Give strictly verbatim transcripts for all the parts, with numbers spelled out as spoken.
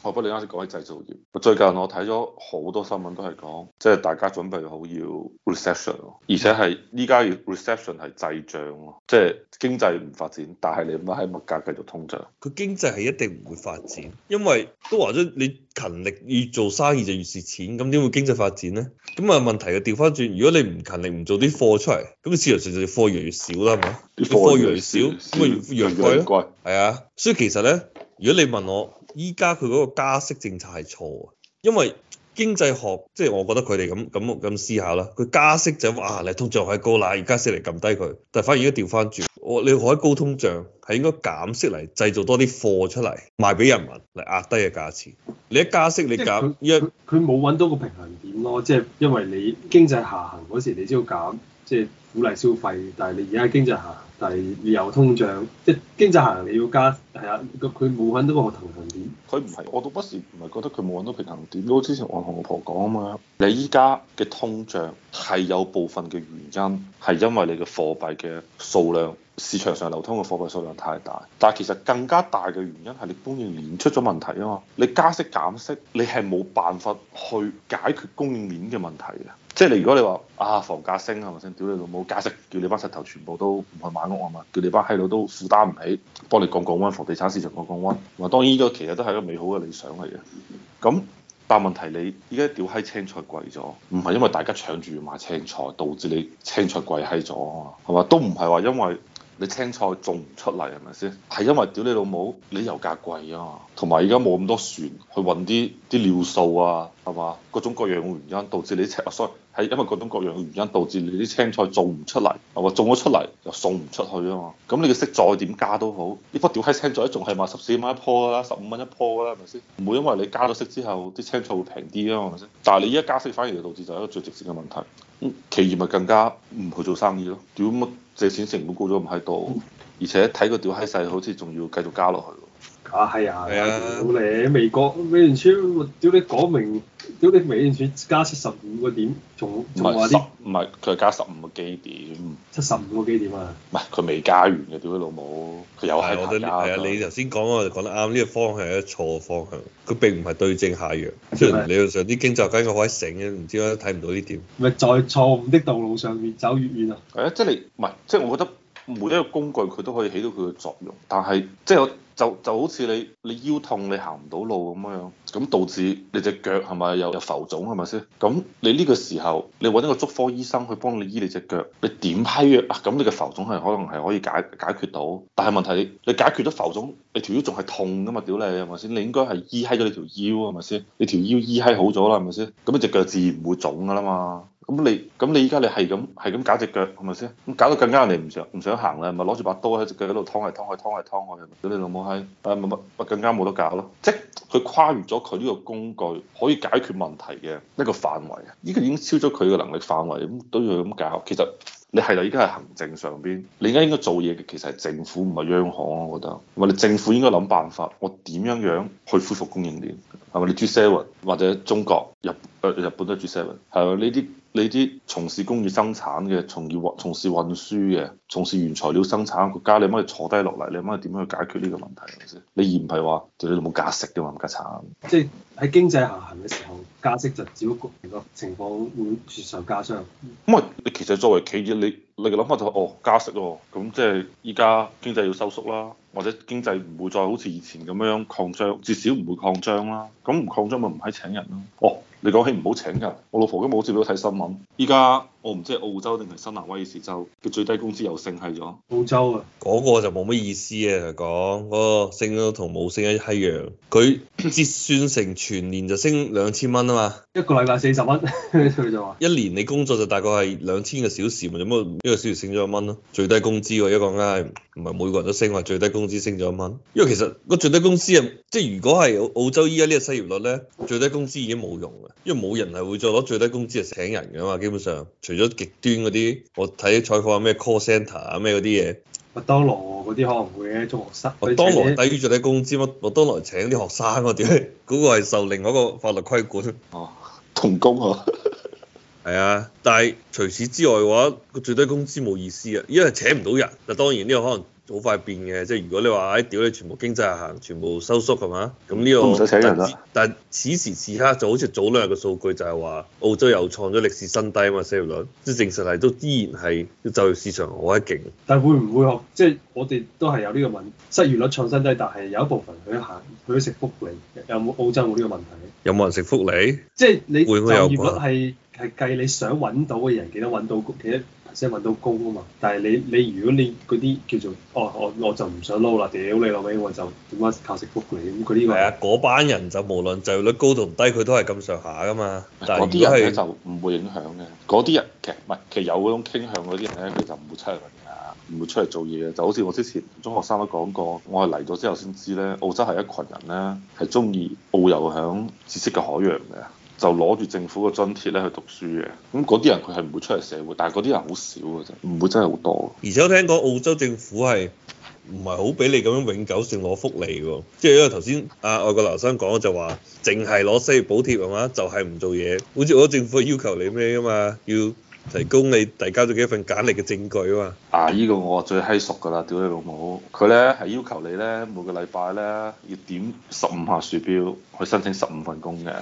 不過你啱先講起製造業，最近我睇咗好多新聞都係講，即係大家準備好要 recession，而且係依家要 recession 係滯脹咯，即係經濟唔發展，但係你唔係喺物價繼續通脹。 佢經濟係一定唔會發展，因為都話咗你勤力越做生意就越蝕錢，咁點會經濟發展咧？咁啊問題就調翻轉，如果你唔勤力唔做啲貨出嚟，咁市場上就貨越嚟越少啦，係嘛？啲貨越嚟越少，咁咪越越貴咯。係啊，所以其實咧，如果你問我，依家佢嗰個加息政策係錯啊，因為經濟學即係、就是、我覺得佢哋咁咁咁思考啦，佢加息就話你通脹係高啦，而加息嚟撳低佢，但係反而而家調翻轉，我你可以高通脹係應該減息嚟製造多啲貨出嚟賣俾人民嚟壓低嘅價錢。你一加息你減， 因為佢冇揾到個平衡點咯，即係因為你經濟下行嗰時你先要減，即係鼓勵消費，但係你而家經濟下行，但係你有通脹，即係經濟下行你要加，係啊，佢冇揾到個平衡點。 佢唔係，我到不時唔係覺得佢冇揾到平衡點。好之前我同我婆講啊嘛，你依家嘅通脹係有部分嘅原因係因為你嘅貨幣嘅數量，市場上流通嘅貨幣數量太大，但係其實更加大嘅原因係你供應鏈出咗問題啊嘛。你加息減息，你係冇辦法去解決供應鏈嘅問題嘅。即係你如果你話啊房價升係咪先？屌你老母加息，叫你班石頭全部都唔去買屋啊嘛，叫你班閪佬都負擔唔起，幫你降降溫，房地產市場降降溫。話當然呢個其實都係一個美好嘅理想嚟嘅。咁但係問題你依家屌閪青菜貴咗，唔係因為大家搶住要買青菜導致你青菜貴閪咗啊嘛，係嘛？都唔係話因為你青菜種唔出嚟係咪先？係因為屌你老母，你油價貴啊嘛，同埋而家冇咁多船去運啲啲尿素啊，係嘛？各種各樣嘅原因導致你青，所以係因為各種各樣嘅原因導致你啲青菜種唔出嚟，係嘛？種咗出嚟又送唔出去啊嘛。咁你嘅息再點加都好，呢樖屌閪青菜仲係賣十四蚊一樖啦，十五蚊一樖啦，係咪先？唔會因為你加咗息之後啲青菜會平啲啊嘛，係咪先？但係你依家加息反而就導致就係一個最直接嘅問題。咁企業咪更加唔去做生意咯？屌乜借錢成本高咗咁閪多，而且睇個屌閪勢好似仲要繼續加落去。 啊係啊，係啊，屌你美國美聯儲，屌你講明，屌你美聯儲加七十五個點，仲仲話啲唔係佢係加十五個基點， 七十五個基點啊！ 唔係佢未加完嘅，屌你老母，佢又係排加。 係啊，你頭先講我就講得啱，呢個方向係一個錯嘅方向，佢並唔係對症下藥。雖然理論上啲經濟學家應該好閪醒嘅，唔知點解睇唔到呢點。 咪在錯誤的道路上越走越遠啊！ 係啊，即係你唔係，即係我覺得每一個工具佢都可以起到佢嘅作用，但係即係我。就就好似你你腰痛你行唔到路咁樣，咁導致你隻腳係咪有有浮腫係咪先？咁你呢個時候你揾一個足科醫生去幫你醫你隻腳，你點批藥啊？咁你嘅浮腫係可能係可以解解決到，但係問題你你解決咗浮腫，你條腰仲係痛㗎嘛？屌你係咪先？你應該係醫閪咗你條腰係咪先？你條腰醫閪好咗啦係咪先？咁你隻腳自然唔會腫㗎啦嘛。咁你咁你依家你係咁係咁搞隻腳係咪先？咁搞到更加人哋唔想唔想行啦，咪攞住把刀喺隻腳喺度劏嚟劏去劏嚟劏去，屌你老母閪！誒咪咪咪更加冇得搞咯，即係佢跨越咗佢呢個工具可以解決問題嘅一個範圍啊！呢個已經超咗佢嘅能力範圍，咁都要咁搞。其實你係啦，依家係行政上邊，你而家應該做嘢嘅其實係政府唔係央行，我覺得。或者政府應該諗辦法，我點樣樣去恢復供應鏈？係咪你 G seven 或者中國日誒日本都係 G seven 係咪呢啲？你啲從事工業生產嘅，從業從事運輸嘅，從事原材料生產嘅國家，你可唔可以坐低落嚟？你可唔可以點樣去解決呢個問題？係咪先？你而唔係話對你冇加息嘅嘛，咁加慘。 即係喺經濟下行嘅時候，加息就只不過個情況會雪上加霜。 咁啊，你其實作為企業，你你嘅諗法就係、哦加息喎，咁即係依家經濟要收縮啦，或者經濟唔會再好似以前咁樣擴張，至少唔會擴張啦。咁唔擴張咪唔係請人咯？哦。你講起唔好請人，我老婆今日好似都睇新聞，依家我唔知係澳洲定係新南威爾士州嘅最低工資又升係咗。 澳洲啊， 嗰個就冇乜意思啊！講嗰個升咗同冇升一閪樣，佢折算成全年就升兩千蚊啊嘛。 一個禮拜四十蚊，佢就話一年你工作就大概係兩千個小時，咪咁啊一個小時升咗一蚊咯。最低工資喎，一個梗係唔係每個人都升，話最低工資升咗一蚊。因為其實個最低工資啊，即係如果係澳洲依家呢個失業率咧，最低工資已經冇用啦。因為冇人係會再攞最低工資嚟請人㗎嘛，基本上除咗極端嗰啲，我睇採訪咩 call centre 啊咩嗰啲嘢， 麥當勞嗰啲可能會嘅中學生， 麥當勞低於最低工資乜？麥當勞請啲學生嗰啲，嗰、嗰個係受另外一個法律規管。 哦，童工啊， 係啊，但係除此之外嘅話，個最低工資冇意思啊，因為請唔到人。嗱當然呢個可能好快變嘅，即係如果你話誒屌你全部經濟下行，全部收縮係嘛？咁呢、這個都唔使請人啦。 但此時此刻就好似早兩日嘅數據就係話澳洲又創咗歷史新低啊嘛，失業率，即係證實係都依然係就業市場好閪勁。 但係會唔會學即係我哋都係有呢個問失業率創新低，但係有一部分佢行佢食福利，有冇澳洲冇呢個問題？ 有冇人食福利？ 即係你就業率會係係計你想揾到嘅人幾多揾到幾多 percent 揾到工啊嘛，但係你你如果你嗰啲叫做哦我我就唔想撈啦，屌你老味我就點解靠食福利咁佢呢個係啊，嗰班人就無論就業率高同低，佢都係咁上下噶嘛。但嗰啲人咧就唔會影響嘅，嗰啲人其實唔係其實有嗰種傾向嗰啲人咧，佢就唔會出嚟揾嘢，唔會出嚟做嘢嘅。就好似我之前中學生都講過，我係嚟咗之後先知咧，澳洲係一群人咧係中意遨遊響知識嘅海洋嘅。就攞住政府嘅津貼咧去讀書嘅，咁嗰啲人佢係唔會出嚟社會，但係嗰啲人好少嘅啫，唔會真係好多。 而且我聽講澳洲政府係唔係好俾你咁樣永久性攞福利喎，即係因為頭先啊外國留學生講就話，淨係攞失業補貼係嘛，就係唔做嘢，好似我政府要求你咩㗎嘛，要提供你遞交咗幾份簡歷嘅證據啊嘛。 啊！依、這個我最閪熟㗎啦，屌你老母！佢咧係要求你咧每個禮拜咧要點十五下鼠標去申請十五份工嘅。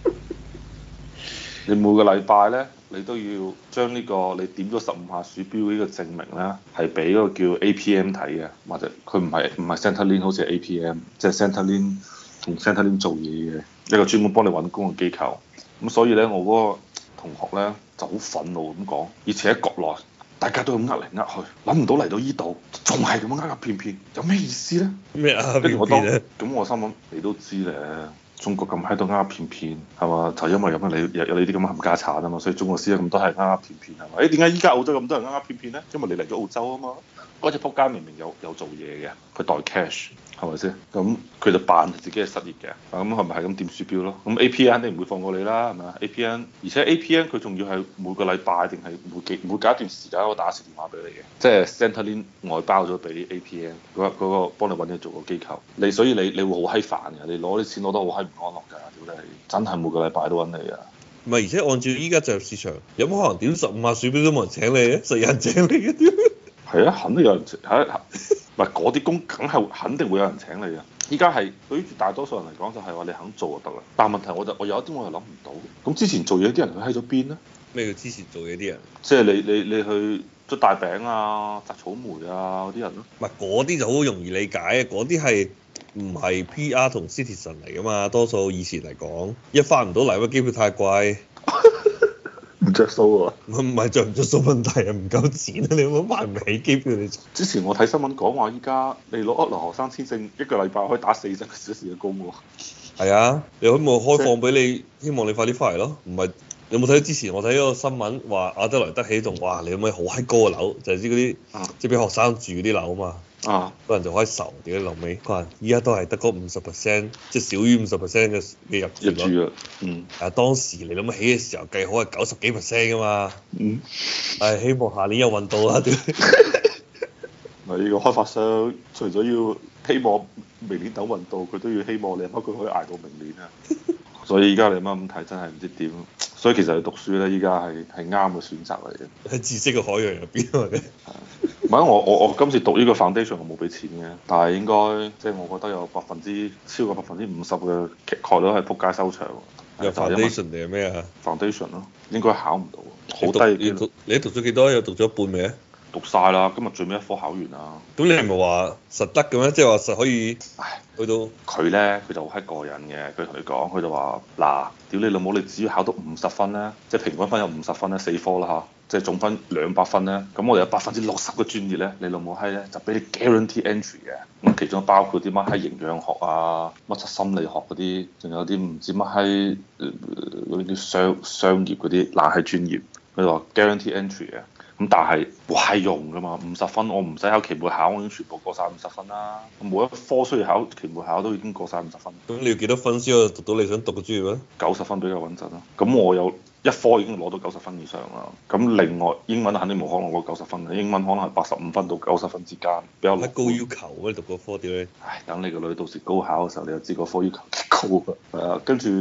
你每個禮拜咧，你都要將呢個你點咗十五下鼠標呢個證明咧，係俾嗰個叫 A P M 睇嘅，或者佢唔係唔係 Centrelink 好似係 A P M，即係 Centrelink 同 Centrelink 做嘢嘅一個專門幫你揾工嘅機構。咁所以咧，我嗰個同學咧就好憤怒咁講，以前喺國內大家都咁呃嚟呃去，諗唔到嚟到依度仲係咁樣呃呃騙騙，有咩意思咧？ 咩啊？ 跟住我當咁我心諗你都知咧。中國咁喺度呃呃騙騙係嘛？就因為咁樣你有有你啲咁嘅冚家產啊嘛，所以中國先有咁多係呃呃騙騙係嘛？誒點解依家澳洲咁多人呃呃騙騙咧？因為你嚟咗澳洲啊嘛，嗰隻仆街明明有有做嘢嘅，佢代 cash 係咪先？咁佢就扮自己係失業嘅，咁係咪係咁點鼠標咯？咁 A P N 肯定唔會放過你啦，係咪啊？A P N 而且 A P N 佢仲要係每個禮拜定係每幾每隔一段時間我打一次電話俾你嘅，即係 Centrelink 外包咗俾 A P N 嗰嗰個幫你揾嘢做個機構，你所以你你會好閪煩嘅，你攞啲錢攞得好閪唔安樂㗎，屌你！真係每個禮拜都揾你啊！ 唔係，而且按照依家就業市場，有冇可能點十五下鼠標都冇人請你嘅？實有人請你嘅屌！ 係啊，肯定有人請，係唔係嗰啲工梗係肯定會有人請你嘅。依家係對於大多數人嚟講，就係話你肯做就得啦。但係問題我就我有一啲我又諗唔到，咁之前做嘢啲人佢喺咗邊咧？ 咩叫之前做嘢啲人？ 即係你你你去捽大餅啊、摘草莓啊嗰啲人咯。 唔係嗰啲就好容易理解嘅，嗰啲係唔係 P R 同 Citizen 嚟噶嘛？多數以前嚟講，一翻唔到嚟，因為機票太貴。 唔着數喎， 唔唔係着唔着數問題啊，唔夠錢啊！你冇買唔起機票你。 之前我睇新聞講話，依家你攞留學生簽證一個禮拜可以打四十個小時嘅工喎。 係啊，你可唔可以開放俾你？希望你快啲翻嚟咯。唔係，你有冇睇之前我睇嗰個新聞話阿德萊德起棟，哇！你可唔可以好閪高嘅樓？就係知嗰啲即係俾學生住嗰啲樓啊嘛。啊！嗰人就可以愁屌你老尾，佢話依家都係得嗰五十 percent，即係少於五十 percent 嘅嘅入住率。 入住啊！嗯。 係啊，當時你諗起嘅時候計好係九十幾 percent 噶嘛。嗯。係希望下年有運到啦，屌！ 咪呢個開發商除咗要希望明年等運到，佢都要希望你乜佢可以捱到明年啊！所以依家你乜咁睇真係唔知點。所以其實你讀書咧，依家係係啱嘅選擇嚟嘅。 喺知識嘅海洋入邊啊！ 唔係我我我今次讀呢個 foundation 我冇俾錢嘅，但係應該即係我覺得有百分之超過百分之五十嘅概率係撲街收場。 有 foundation 定係咩啊 ？foundation 咯，應該考唔到，好低。 你讀你讀咗幾多？有讀咗一半未啊？ 讀晒啦，今日最尾一科考完啦。 咁你係咪話實得嘅咩？即係話實可以？唉，去到佢咧，佢就好閪過癮嘅。佢同你講，佢就話：嗱，屌你老母，你只要考到五十分咧，即係平均分有五十分咧，四科啦嚇，即係總分兩百分咧。咁我哋有百分之六十嘅專業咧，你老母閪咧就俾你 guarantee entry 嘅。咁其中包括啲乜閪營養學啊，乜柒心理學嗰啲，仲有啲唔知乜閪嗰啲叫商商業嗰啲冷係專業。佢話 guarantee entry 嘅。咁但係冇閪用㗎嘛，五十分我唔使考期末考，我已經全部過晒五十分啦。每一科需要考期末考都已經過晒五十分。 咁你要幾多分先可以讀到你想讀嘅專業咧？ 九十分比較穩陣咯。咁我有一科已經攞到九十分以上啦。咁另外英文肯定冇可能攞九十分嘅，英文可能係八十五分到九十分之間，比較高要求啊！你讀嗰科點咧？ 唉，等你個女到時高考嘅時候，你就知個科要求幾高啊。係啊，跟住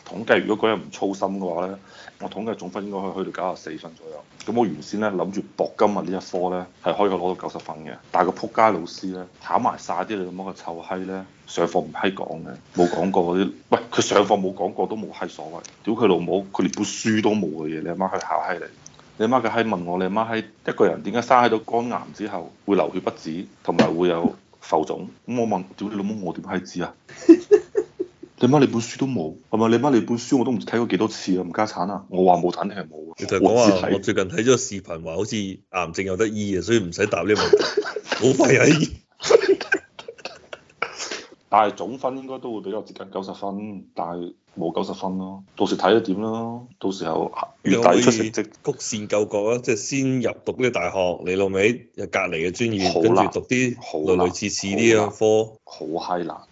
統計如果嗰日唔操心嘅話咧，我統計總分應該可以去到九十四分左右。咁我原先咧諗住博今日呢一科咧係可以攞到九十分嘅，但係個撲街老師咧考埋晒啲你咁嘅臭閪咧，上課唔閪講嘅，冇講過嗰啲，喂佢上課冇講過都冇閪所謂，屌佢老母，佢連本書都冇嘅嘢，你阿媽去考閪你。你阿媽嘅閪問我，你阿媽閪一個人點解生喺到肝癌之後會流血不止，同埋會有浮腫？咁我問，屌你老母，我點閪知啊？你媽你本書都冇，係咪？你媽你本書我都唔知睇過幾多次啊！唔家產啊！我話冇睇定係冇啊！ 你同佢講話，我最近睇咗個視頻，話好似癌症有得醫啊，所以唔使答呢個問題，好快有醫。 但係總分應該都會比較接近九十分，但係冇九十分咯。到時睇咗點咯，到時候月底出成績， 曲線救國啊！即係先入讀呢啲大學，你老味有隔離嘅專業，跟住難讀啲好類類似似啲嘅科， 好閪難。